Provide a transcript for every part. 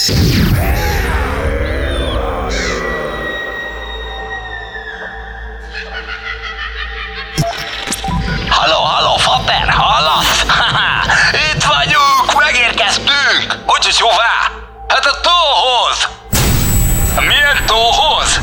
Halló, Fater, hallasz? Itt vagyunk, megérkeztünk! Hogy hová? Hát a tóhoz! Milyen tóhoz?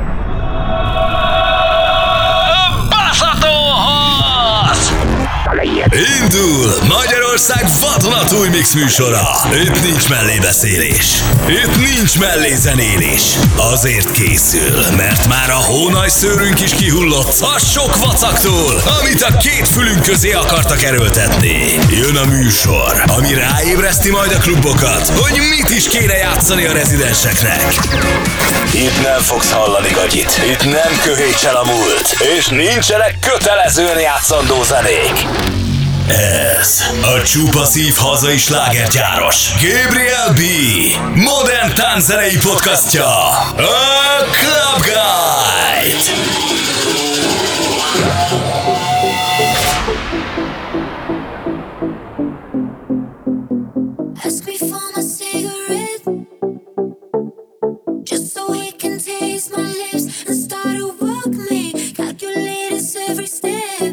A tóhoz! Indul Magyarország vadonatúj mix műsora. Itt nincs mellébeszélés, itt nincs mellézenélés. Azért készül, mert már a hónajszőrünk is kihullott a sok vacaktól, amit a két fülünk közé akartak erőltetni. Jön a műsor, ami ráébreszti majd a klubokat, hogy mit is kéne játszani a rezidenseknek. Itt nem fogsz hallani gagyit, itt nem köhétsel a múlt, és nincsenek kötelezően játszandó zenék. Ez a csupa szív hazai slágergyáros Gabriel B. modern tánczenei podcastja, a Club Guide. Ask me for my cigarette, just so he can taste my lips and start to walk me, calculate his every step.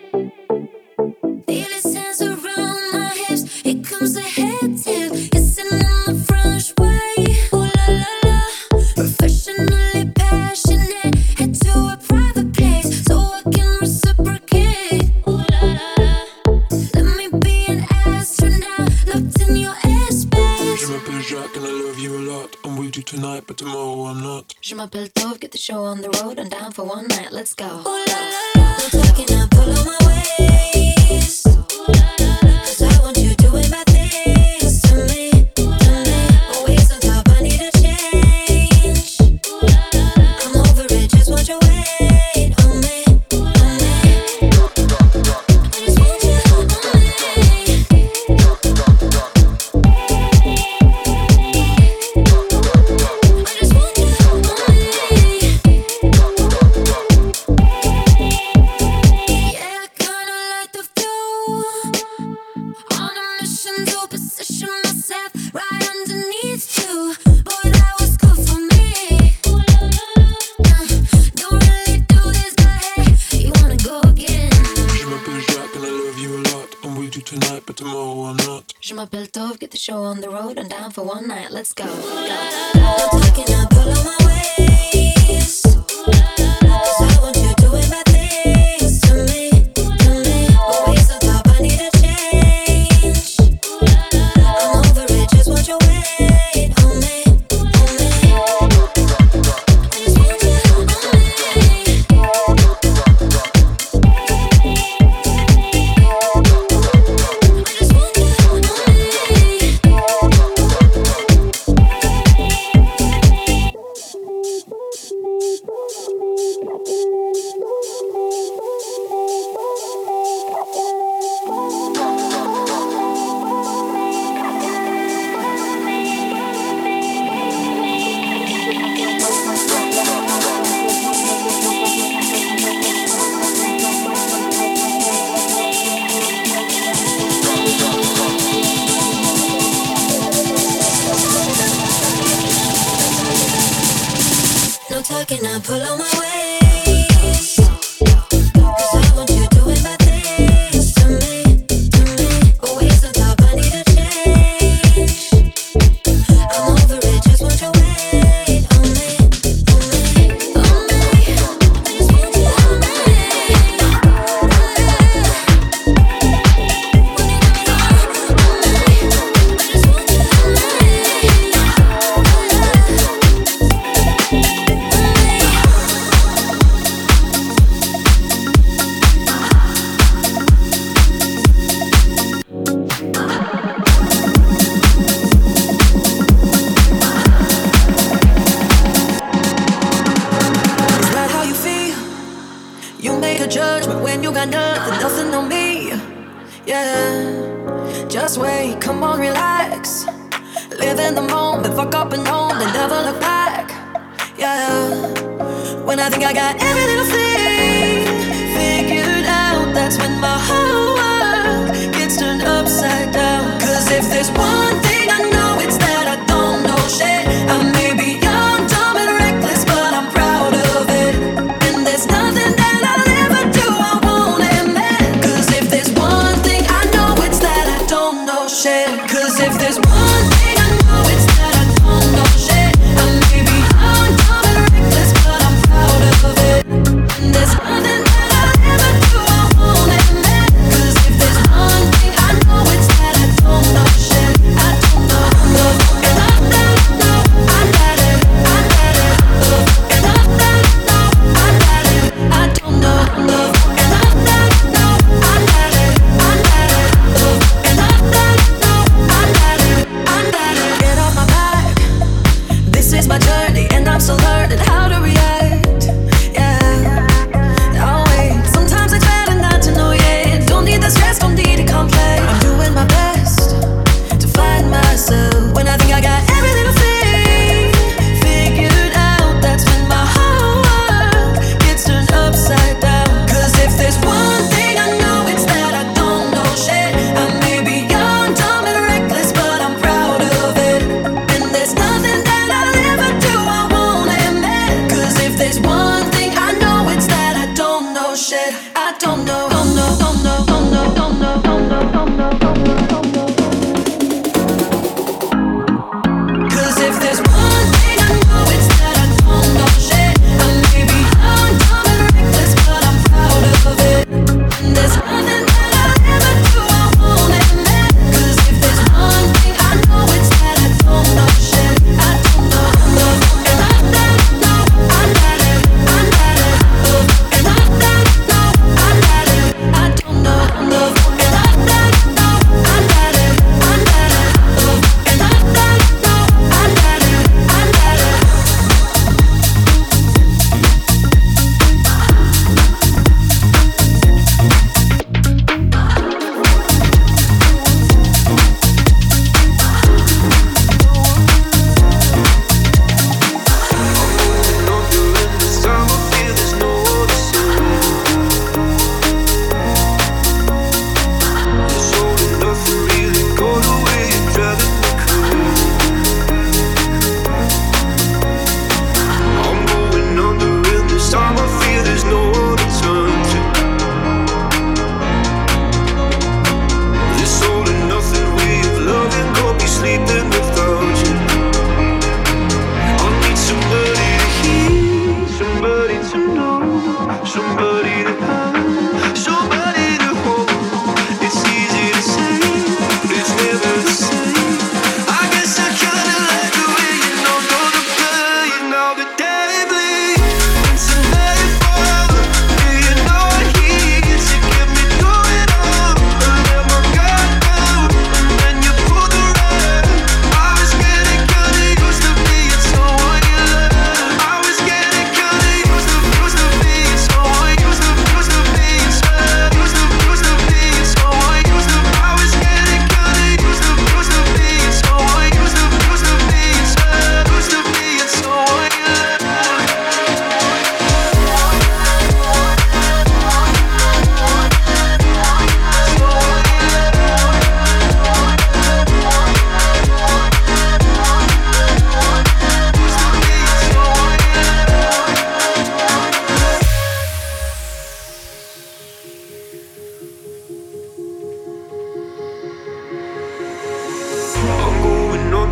Feel his hands around my hips, here comes the head tip, kissing on the French way. Ooh la la la, professionally passionate, head to a private place so I can reciprocate. Ooh la la la, let me be an astronaut, locked in your airspace. Je m'appelle Jacques and I love you a lot. I'm with you tonight, but tomorrow I'm not. Je m'appelle Tove, get the show on the road. I'm down for one night, let's go. Ooh la la la, no talking, I pull on my waist. Ooh la la la, 'cause I want you doing bad things to me, to me. Always on top, I need a change. Ooh la la la, I'm over it, just want your weight on me, on me. I just want you on me. I just want you on me. Yeah, I kinda like the view. On a mission to position myself right underneath you. Boy, that was good for me. Don't really do this, but hey, you wanna go again? Je m'appelle Jacques and I love you a lot. I'm with you tonight, but tomorrow I'm not. Je m'appelle Tove, get the show on the road. I'm down for one night, let's go. No talking, I pull on my waist. 'Cause I want you doing bad things to me, to me. Always on top, I need a change. I'm over it, just want your weight on me, on me. I just want you on me. I just want you on me. No talking, I pull on my waist. 'Cause I want you doing bad things to me, to me. Always on top, I need a change. I'm over it, just want your weight on me, on me, on me. I just want you on me, on me. When you got me on me, I just want you on me. Is that how you feel? You make a judgment when you got nothing on me. Yeah, just wait, come on, relax. Live in the moment, fuck up and home, then never look back. Yeah, when I think I got every little thing figured out, that's when my whole world gets turned upside down. 'Cause if there's one thing I know, it's that I don't know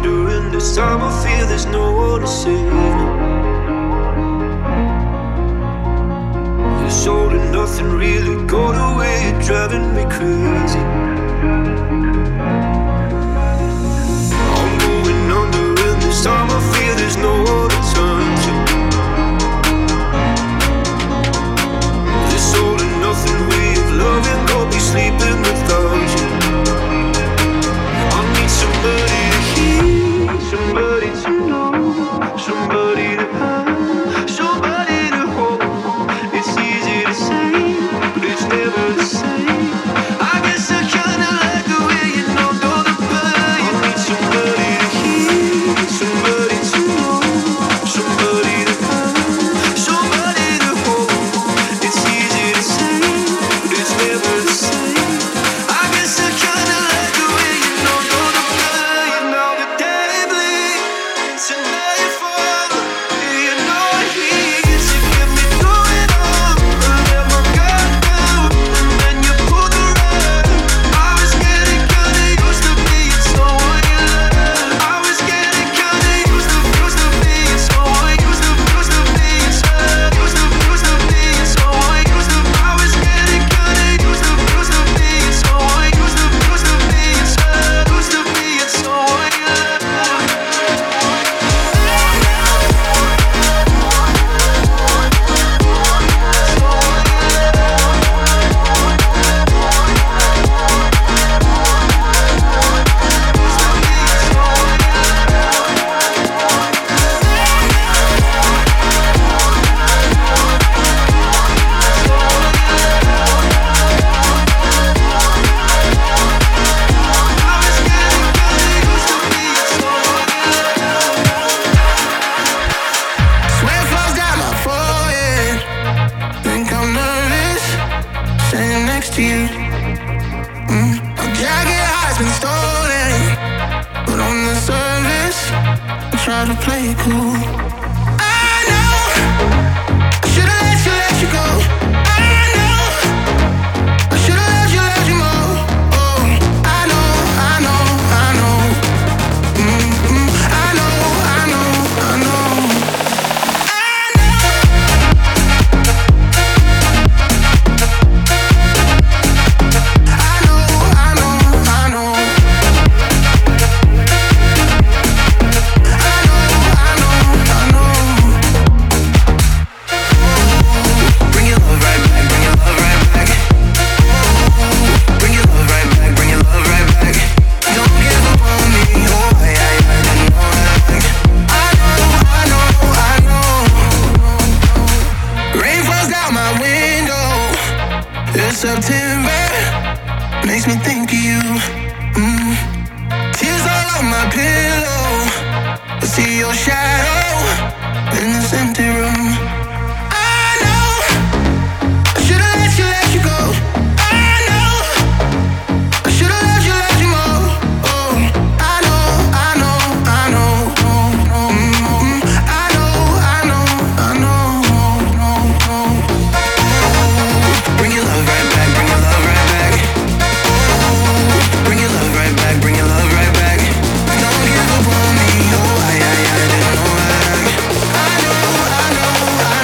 under, and this time I feel there's no one to save me. This all and nothing really got away, you're driving me crazy. I'm going under, and this time I feel there's no one to turn to. This all and nothing way of loving got me sleeping without you. I need somebody to hear, somebody to know, somebody to have, somebody to hold. It's easy to say, but it's never the same. I guess I kinda like the way you know the pain. I need somebody to hear, somebody to know, somebody to have, somebody to hold. It's easy to say, but it's never the same. I guess I kinda like the way you know the pain. Now the day bleeds and nightfall, you know it hits. You get me through it all. I let my guard down, and then you pulled the rug. I was getting kinda used to being someone you love. I was getting kinda used to being someone used to being sad. Used to being someone used to. I was getting kinda used to being someone used to being sad. Used to being someone you love. Sweat flows down my forehead. Think I'm nervous, standing next to you. My jacket has been stolen, but on the surface, I try to play it cool. I know I should've let you go. I know I should've let you more. Oh, I know, I know, I know. I know, I know, I know. Rain falls down my window. It's September, makes me think of you. Tears all on my pillow. I see your shadow in this empty room. I know I should've let you go. I know I should've let you more. Oh, I know, I know, I know. I know, I know, I know. Bring your love right back, bring your love right back. Bring your love right back, bring your love right back. Don't give up on me, oh, I didn't know that. I know, I know, I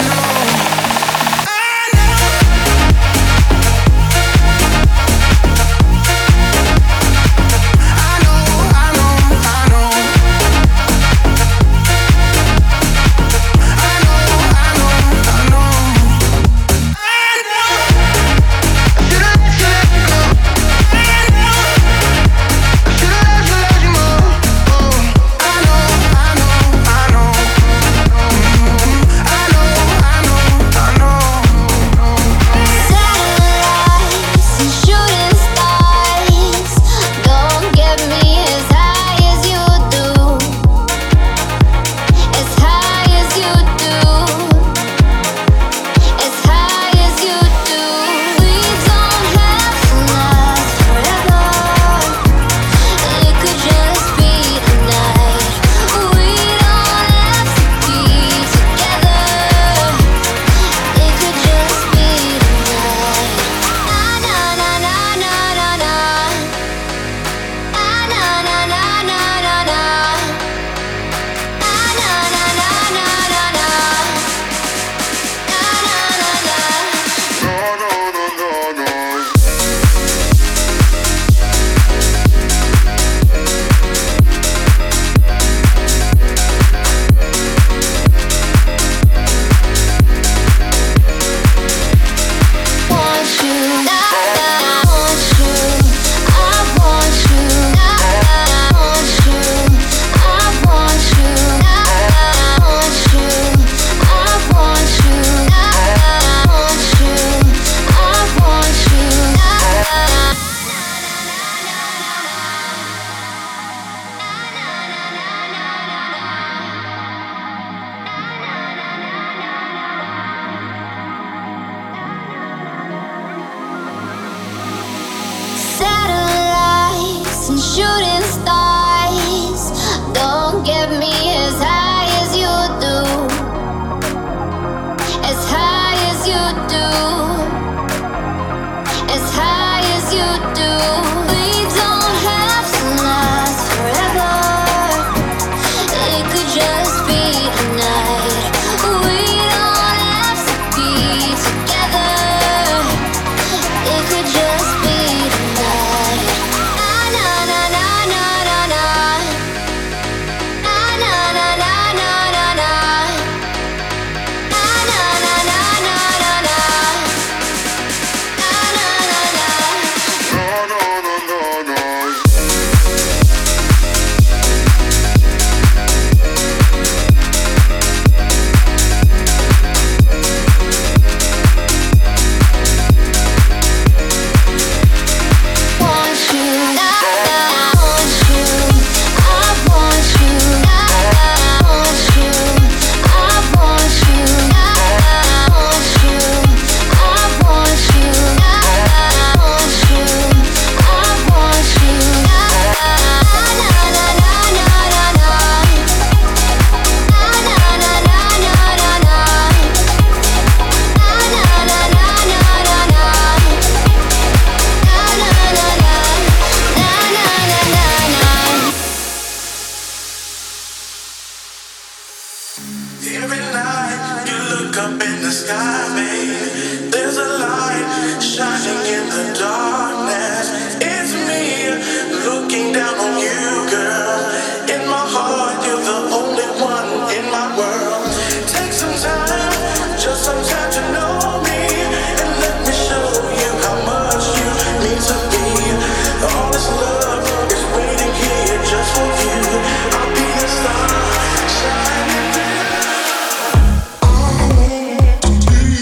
sky, babe. There's a light shining in the darkness. It's me looking down on you, girl. In my heart, you're the only one in my world. Take some time, just some time to know me, and let me show you how much you mean to me. All this love is waiting here just for you. I'll be the star shining through. I want to be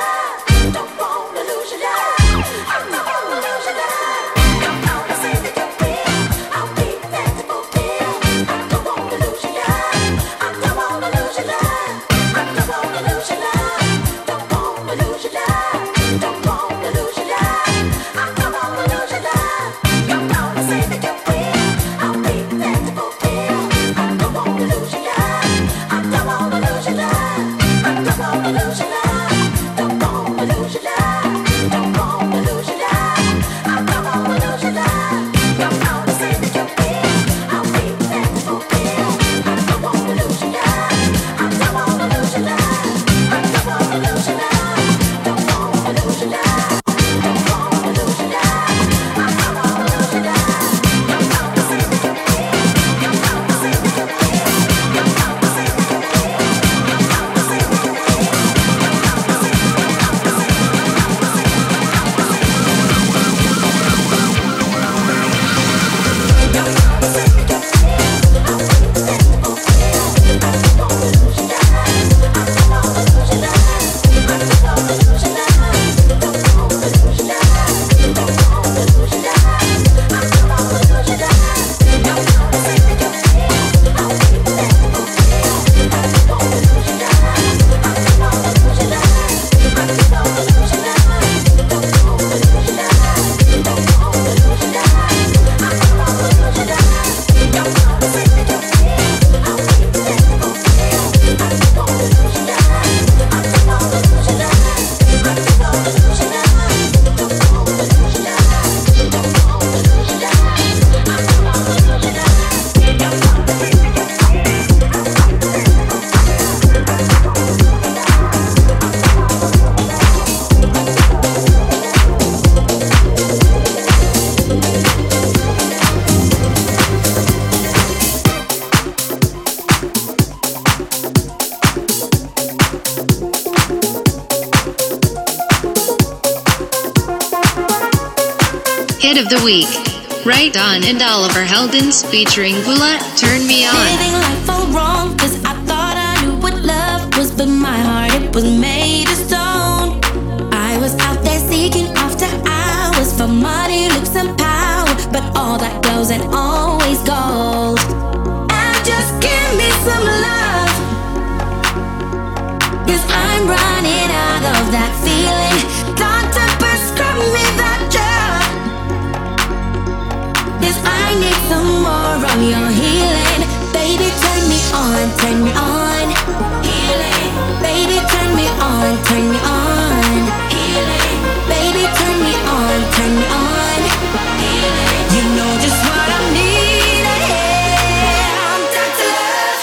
Hit of the week. Right On and Oliver Heldens featuring Bula, Turn Me On. Living life all wrong, cause I thought I knew what love was, but my heart, it was made of stone. I was out there seeking after hours for money, looks and power, but all that goes and always gold. And just give me some love, cause I'm running out of that feeling. Doctor, prescribe me that drug, cause I need some more of your healing. Baby, turn me on, turn me on. Healing. Baby, turn me on, turn me on. Healing. Baby, turn me on, turn me on. Healing. You know just what I need. I'm Dr. Love.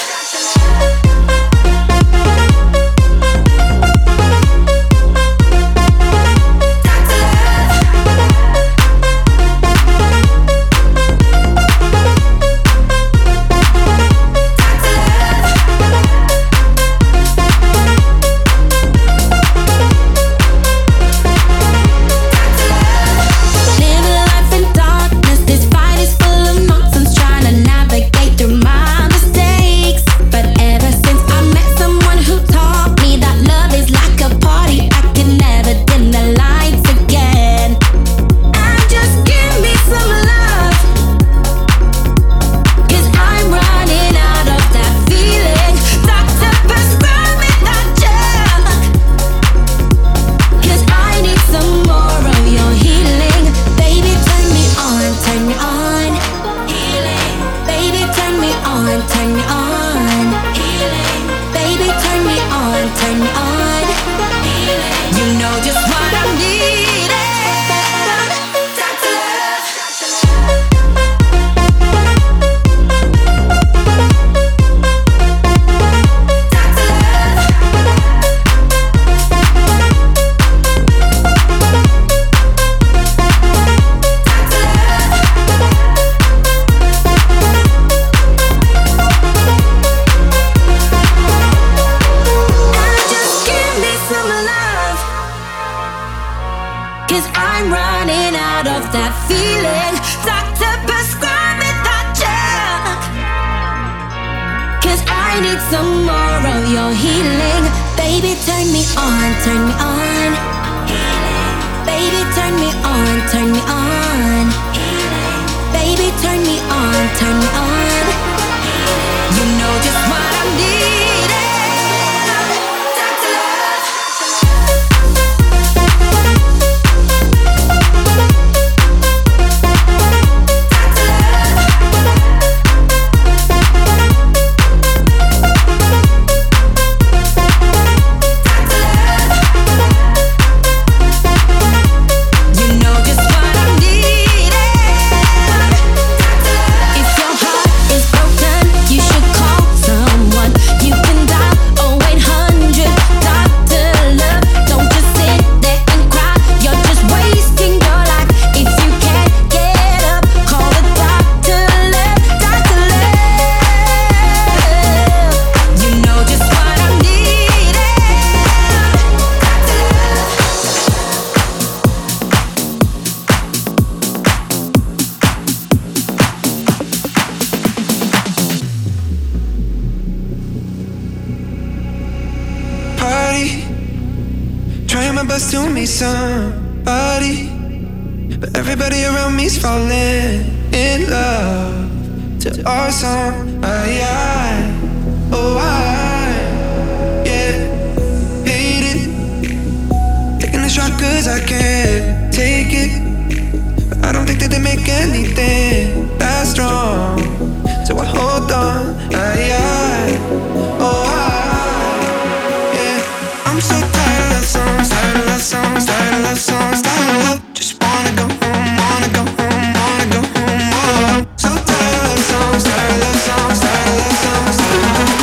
Cause I I need some more of your healing. Baby, turn me on, turn me on. Baby, turn me on, turn me on. Baby, turn me on, turn me on. You know just what I'm needing. Dr. Love. Trying my best to meet somebody, but everybody around me's falling in love to our song. Yeah, hate it. Taking a shot cause I can't take it, but I don't think that they make anything that strong, so I hold on. I'm so tired of love songs, tired of love songs, tired of love songs, tired of love. Just wanna go home, wanna go home, wanna go home. Oh, so tired of love songs, tired of love songs, tired of love songs, tired of love.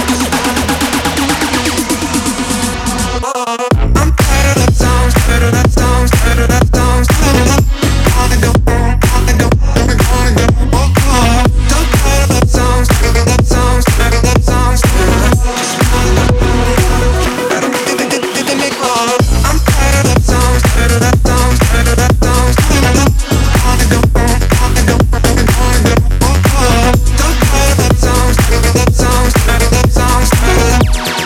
I'm tired of love songs, tired of love songs, tired of love songs, tired of love. Wanna go home, wanna go, wanna go, wanna go. Oh, so tired of love songs, tired of love songs, tired of love songs, tired of love. Just wanna go home. I'm tired of love songs, tired of love songs, tired of love songs, tired of love. Wanna go home, wanna go, wanna go, wanna go. Oh, so tired of love songs, tired of love songs, tired of love songs, tired of love.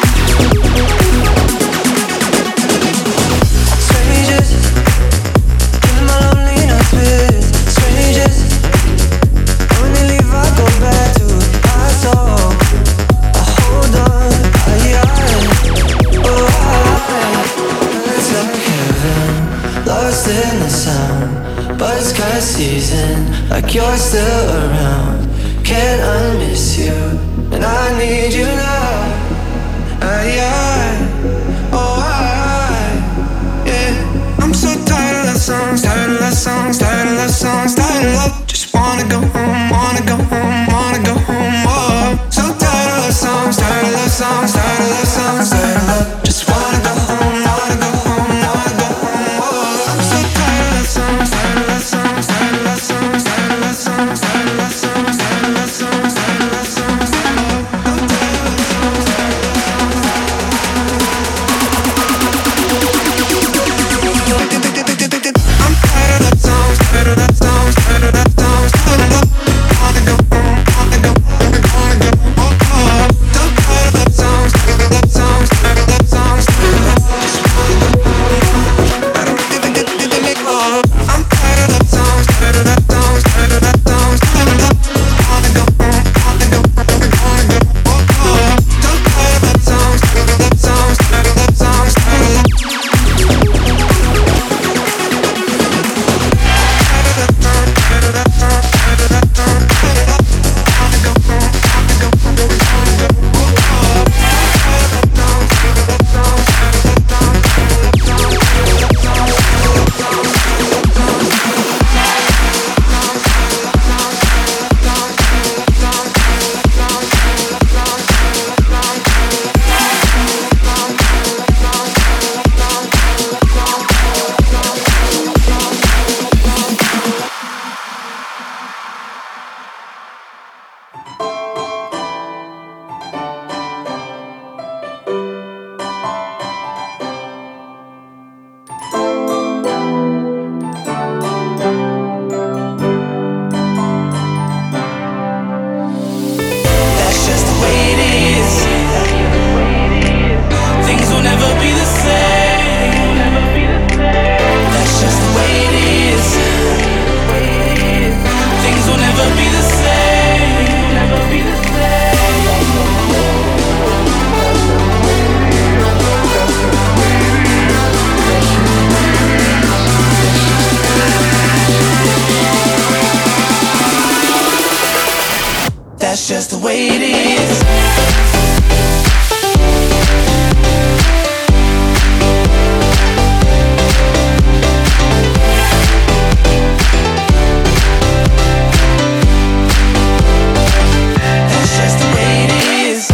Strangers, killing my lonely nights with strangers. And when they leave, I go back to our song. I hold on, it's like heaven, lost in the sound. Buds cut season, like you're still around. Can't unmiss you, and I need you now. Yeah. I'm so tired of love songs, tired of love songs, tired of love songs, tired of love. Just wanna go home, wanna go home, wanna go home. Oh, so tired of love songs, tired of love songs, tired of love songs, tired of love. Just wanna go home, wanna go home, wanna go home. Oh, I'm so tired of love songs, tired of love songs, tired of love songs, tired of love songs, tired of love songs, tired of love songs, tired of love songs, tired of love. I'm tired of love songs, tired of love songs, tired of love. I'm tired of love songs, tired of love songs, tired of love songs, tired of love. Wanna go home, wanna go, just the way it is. That's just the way it is.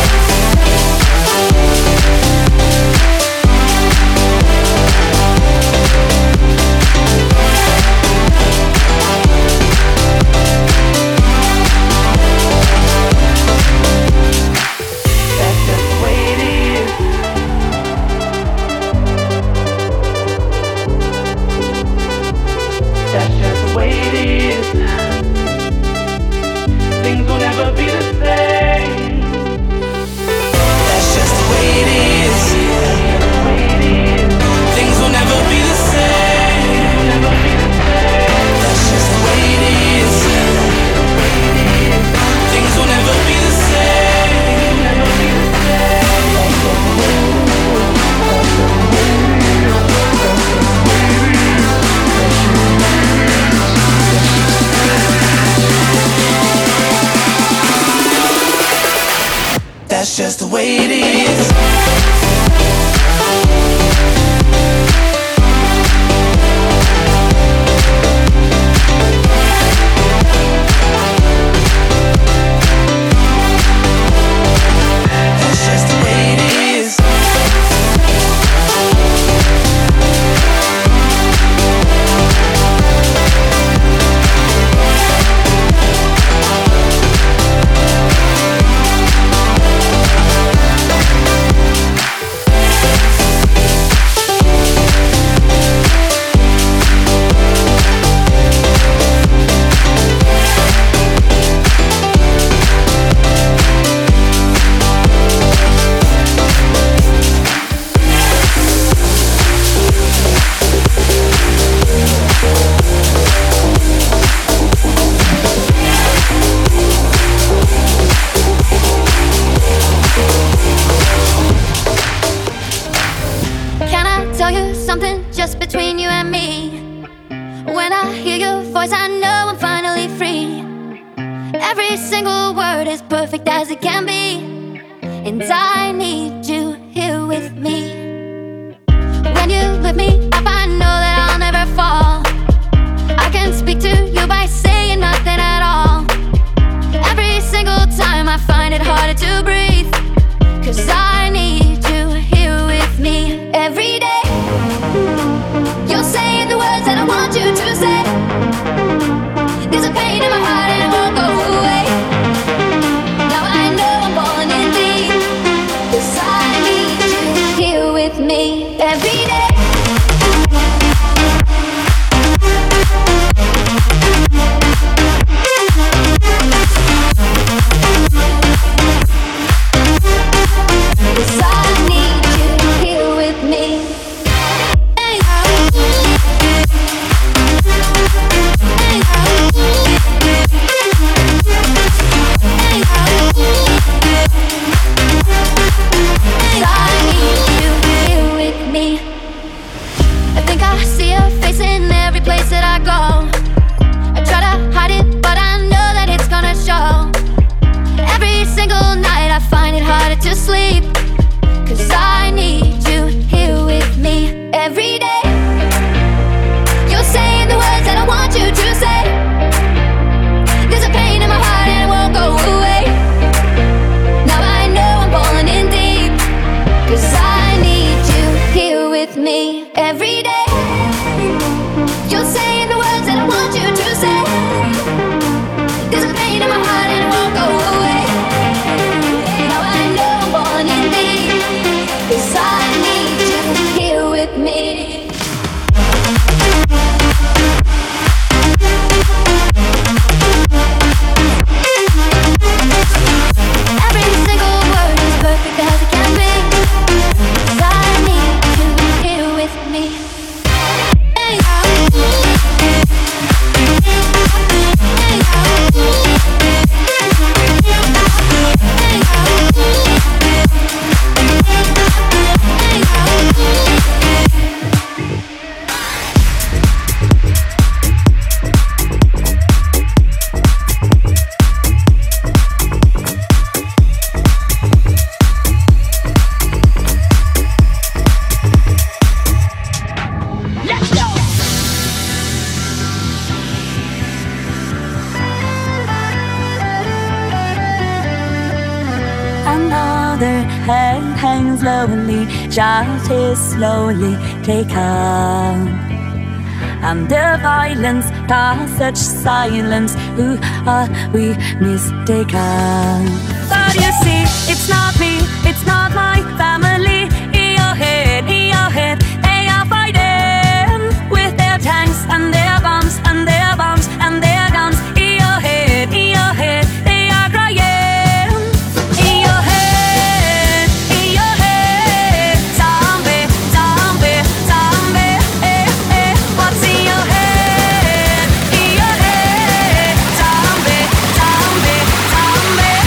That's just the way it is. That's just the way it is. Just between you and me. When I hear your voice, I know I'm finally free. Every single word is perfect as it can be, and I need you here with me. When you lift me up, I know that I'll never fall. I can speak to you by saying nothing at all. Every single time I find it harder to breathe, 'cause I need you here with me every day. You're saying the words that I want you to say. There's a pain in my heart and it won't go away. Now I know I'm falling in deep, 'cause I need you here with me every day. head hangs lonely, just is slowly taken. And the violence caused such silence. Who are we mistaken? But you see, it's not me, it's not my family. In your head, they are fighting with their tanks and their bombs and their bombs and their guns. In your head, they are crying. In your head, zombie, zombie, zombie. What's in your head? In your head, zombie, zombie, zombie.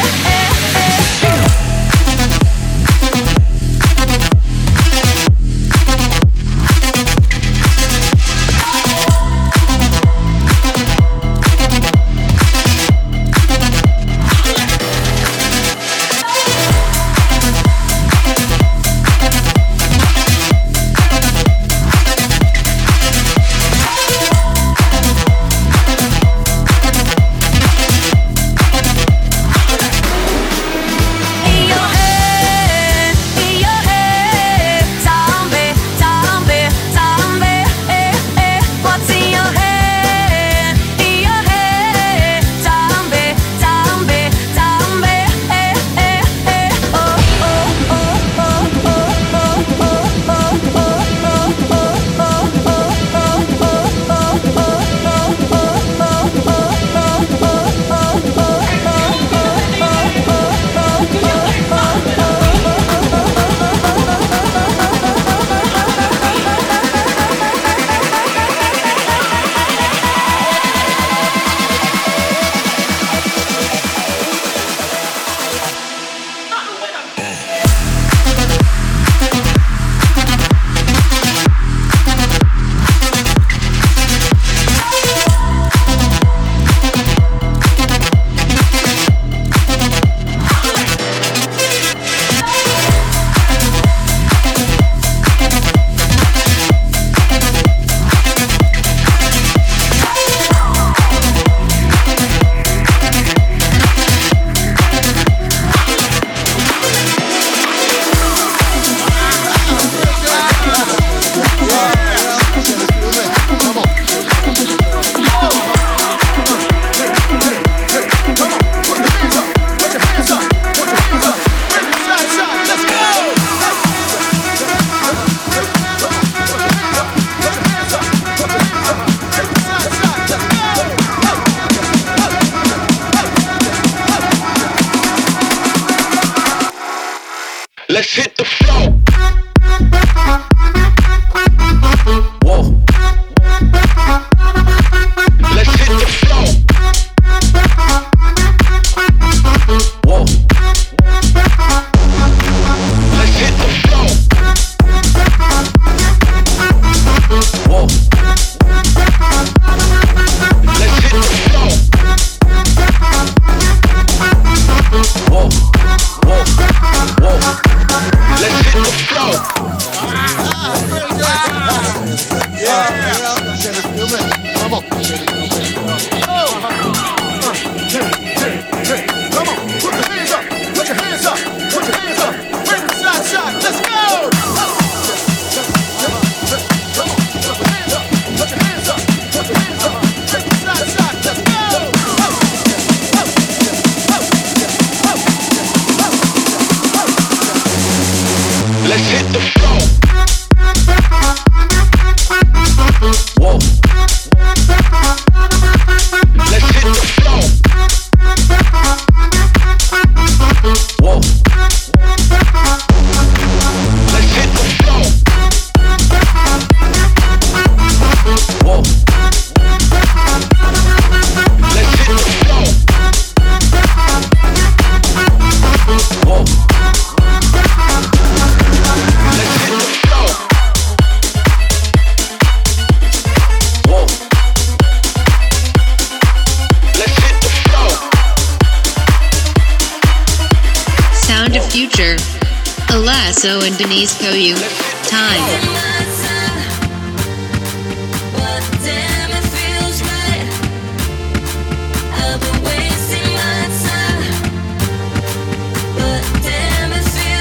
Let's hit the floor. Whoa. Let's hit the floor. Whoa. Let's hit the floor. Whoa. Let's hit the floor. Whoa. Whoa. Whoa. Let's hit the floor. Come on. Come on. Put your hands up. Put your hands up. Put your hands up. Bring the side shot. Let's go. Come on. Put your hands up. Put your hands up. Put your hands up. Bring the side shot. Let's go. Let's hit the floor. Whoa. Let's hit the floor. Whoa. Let's hit the floor. Whoa. Let's hit the floor. Whoa. Sound of Future. Alasso and Denise Koyu. Time. I've been wasting my time, but damn it feels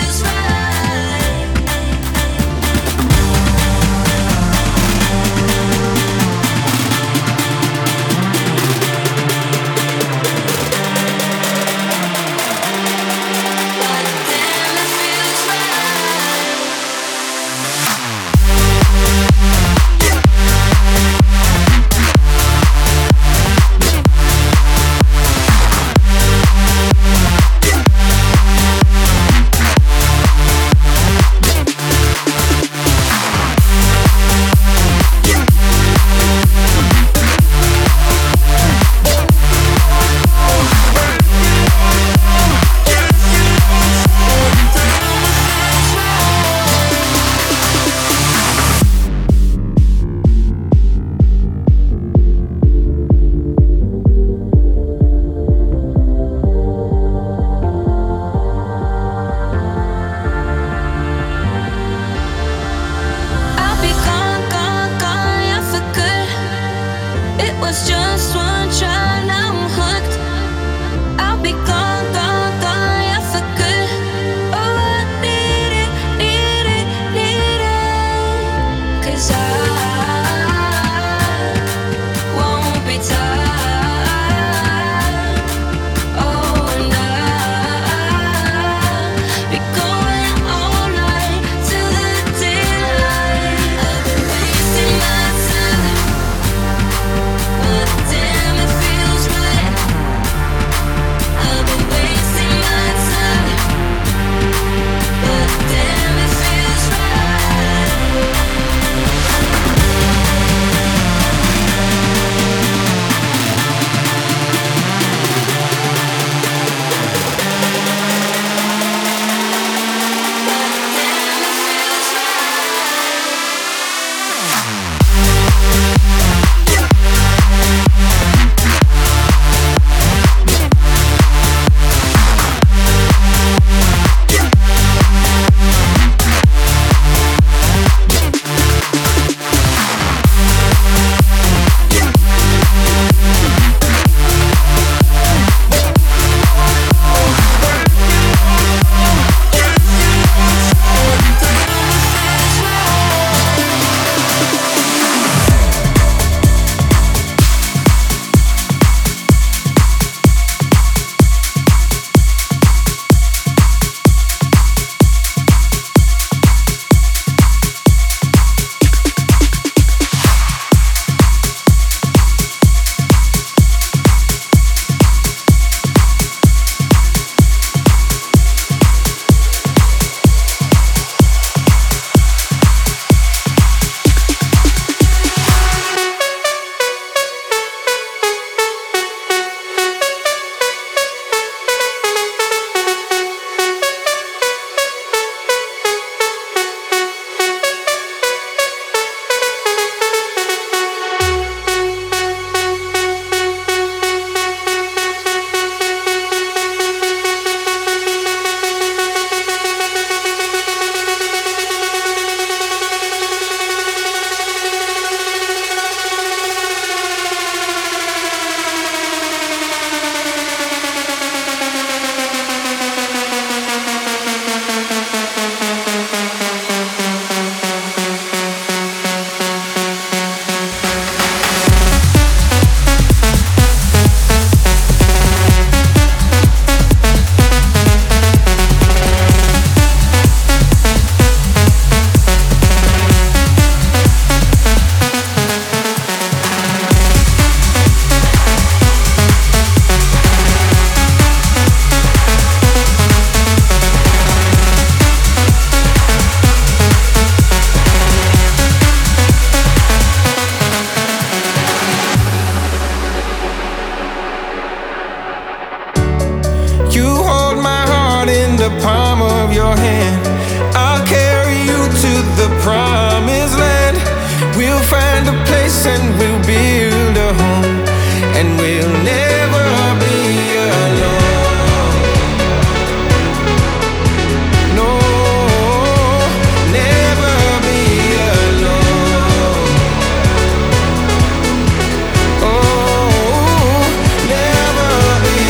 and we'll build a home, and we'll never be alone. No, never be alone. Oh, never be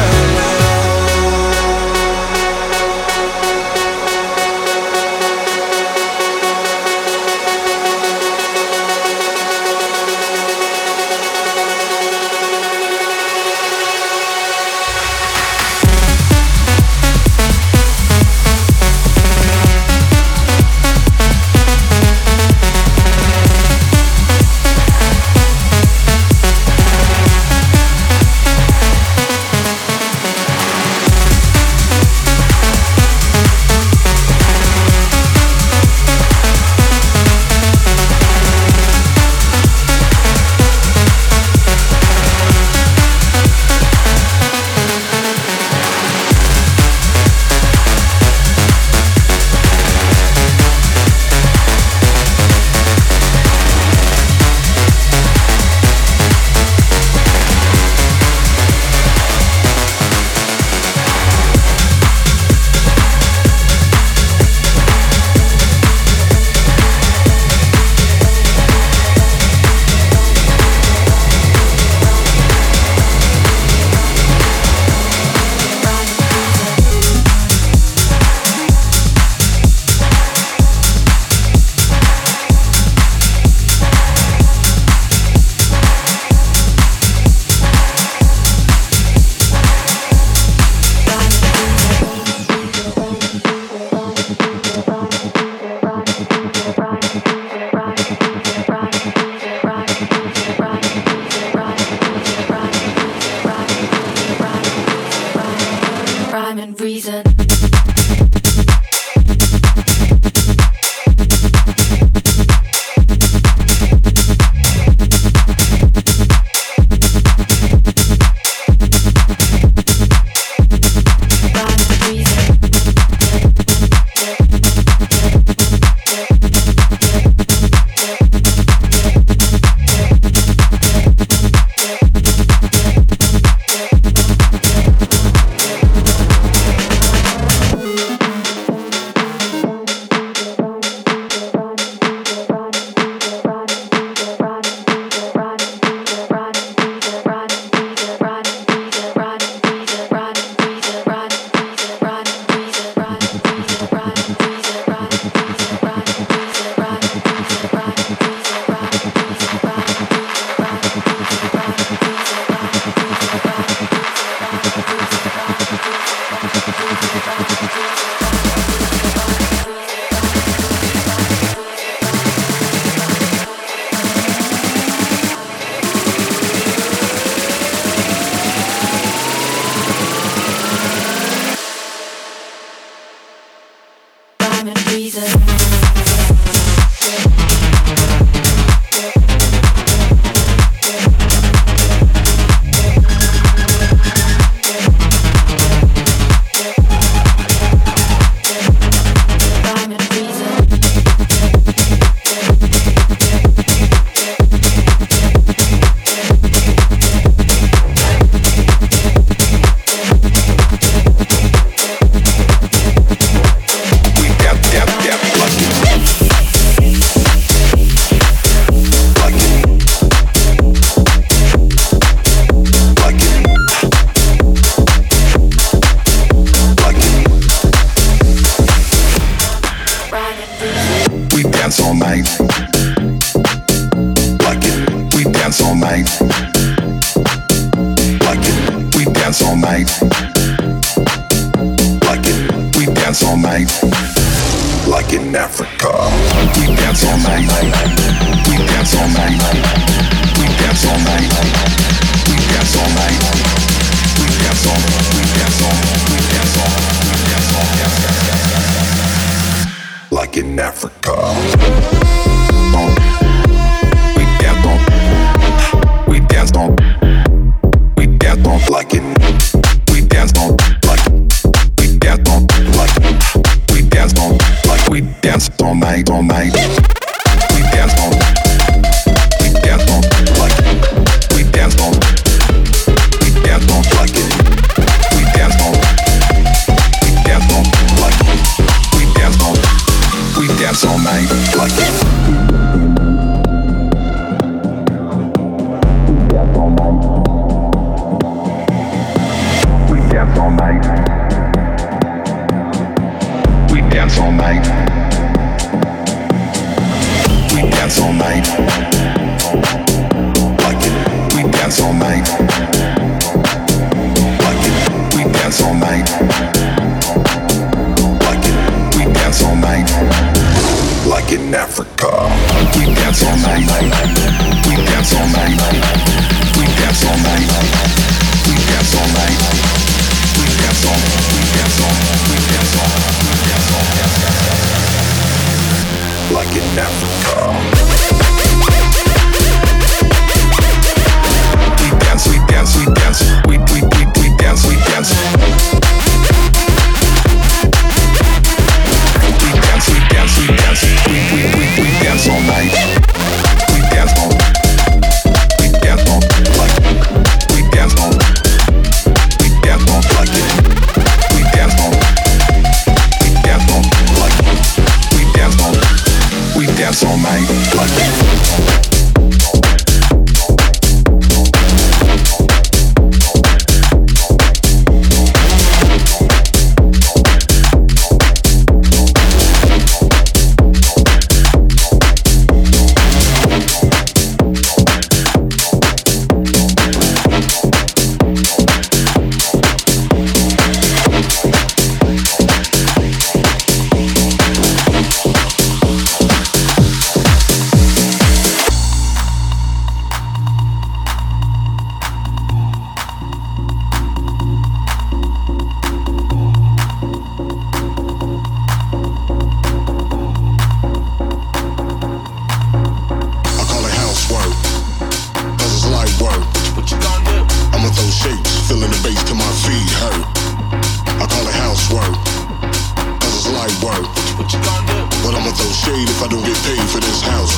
Rhyme and reason. all night. We dance all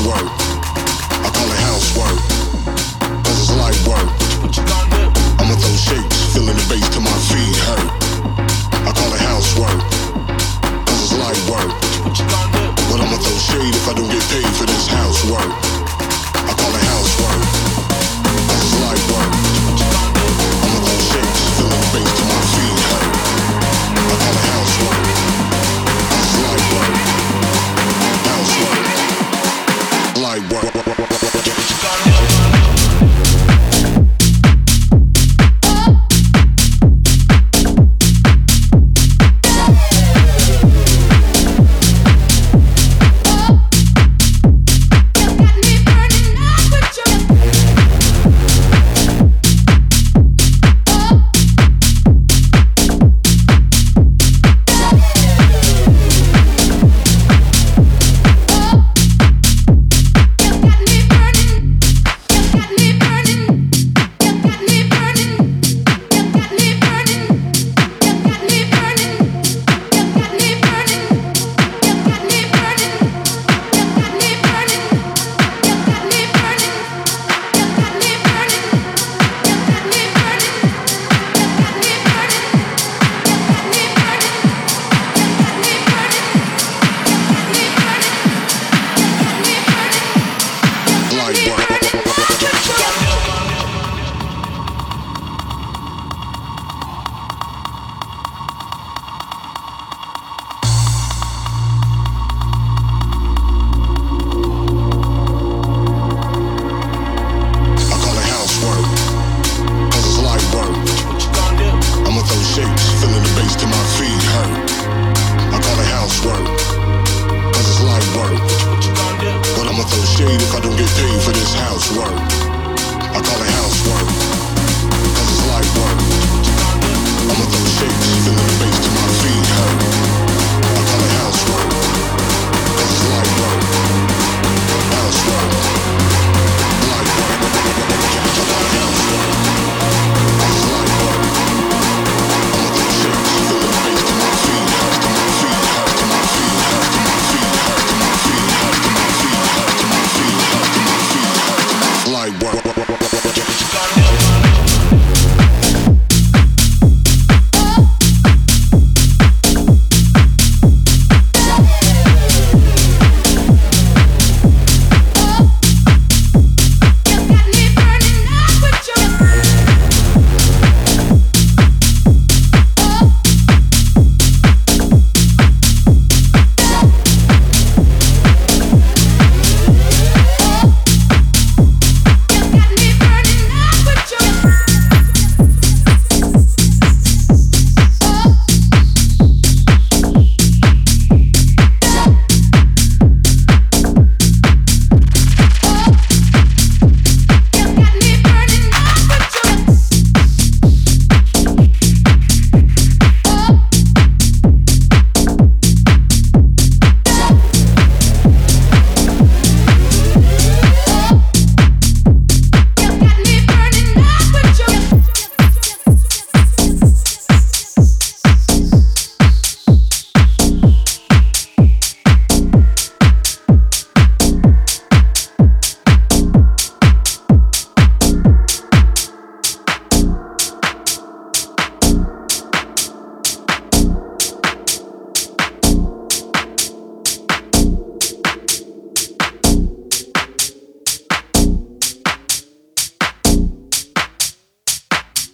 housework. I call it housework, cause it's light work. I'ma throw shapes, feeling the bass till my feet hurt. I call it housework, cause it's light work. But I'ma throw shade if I don't get paid for this housework. I call it housework, cause it's light work. I'ma throw shapes, feeling the bass till my feet hurt. I call it housework, cause it's light work. Housework, light work. Feeling the bass to my feet hurt.